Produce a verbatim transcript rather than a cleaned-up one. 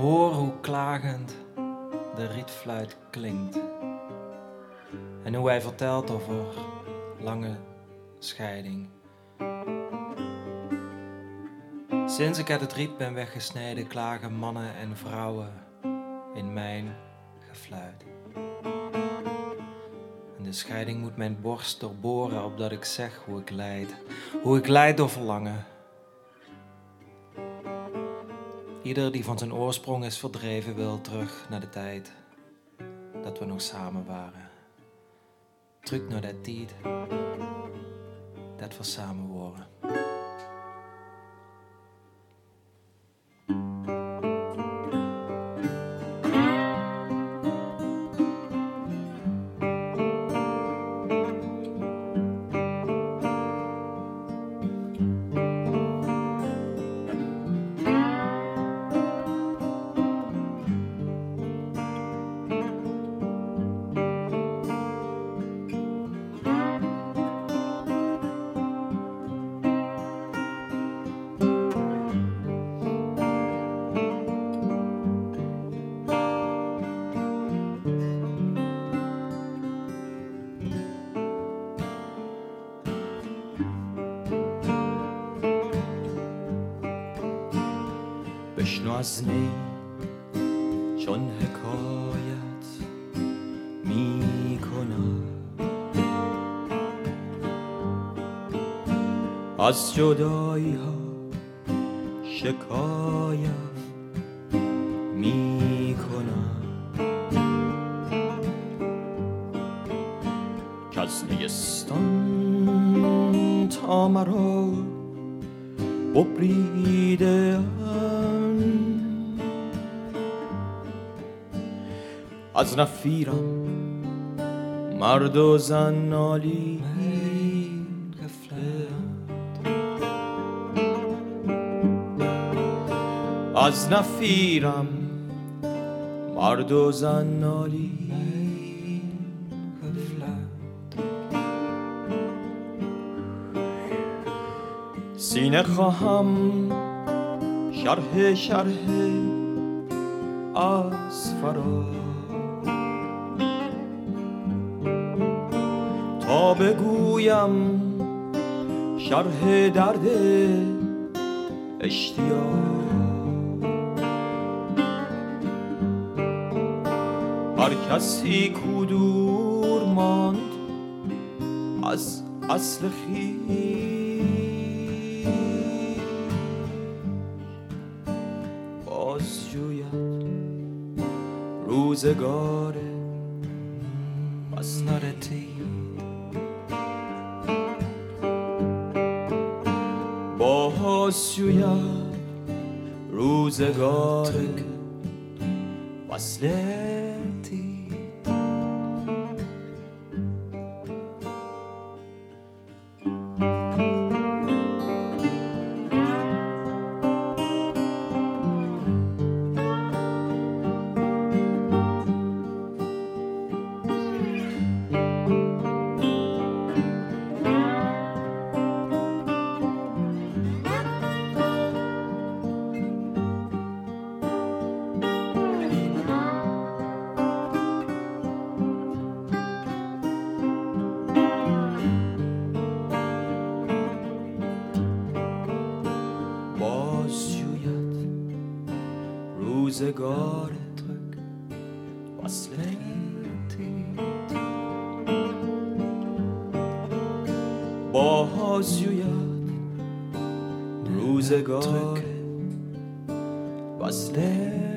Hoor hoe klagend de rietfluit klinkt. En hoe hij vertelt over lange scheiding. Sinds ik uit het riet ben weggesneden, klagen mannen en vrouwen in mijn gefluit. En de scheiding moet mijn borst doorboren, opdat ik zeg hoe ik lijd. Hoe ik lijd door verlangen. Ieder die van zijn oorsprong is verdreven wil terug naar de tijd dat we nog samen waren. Terug naar de tijd dat we samen waren. بشنو از نی چون حکایت می کنم از جدایی ها شکایت می کنم که از نیستان تا مرا ببریده از نفیرم مرد و زن نالی از نفیرم مرد و زن نالی سینه خواهم شرح شرح از فرا تا بگویم شرح درد اشتیاق هر کسی کو دور ماند از اصل خویش باز جوید روزگار مسنرتی باز جوید روزگار وصلتی روزگار ترک وصلتی باز جوید روزگار وصلتی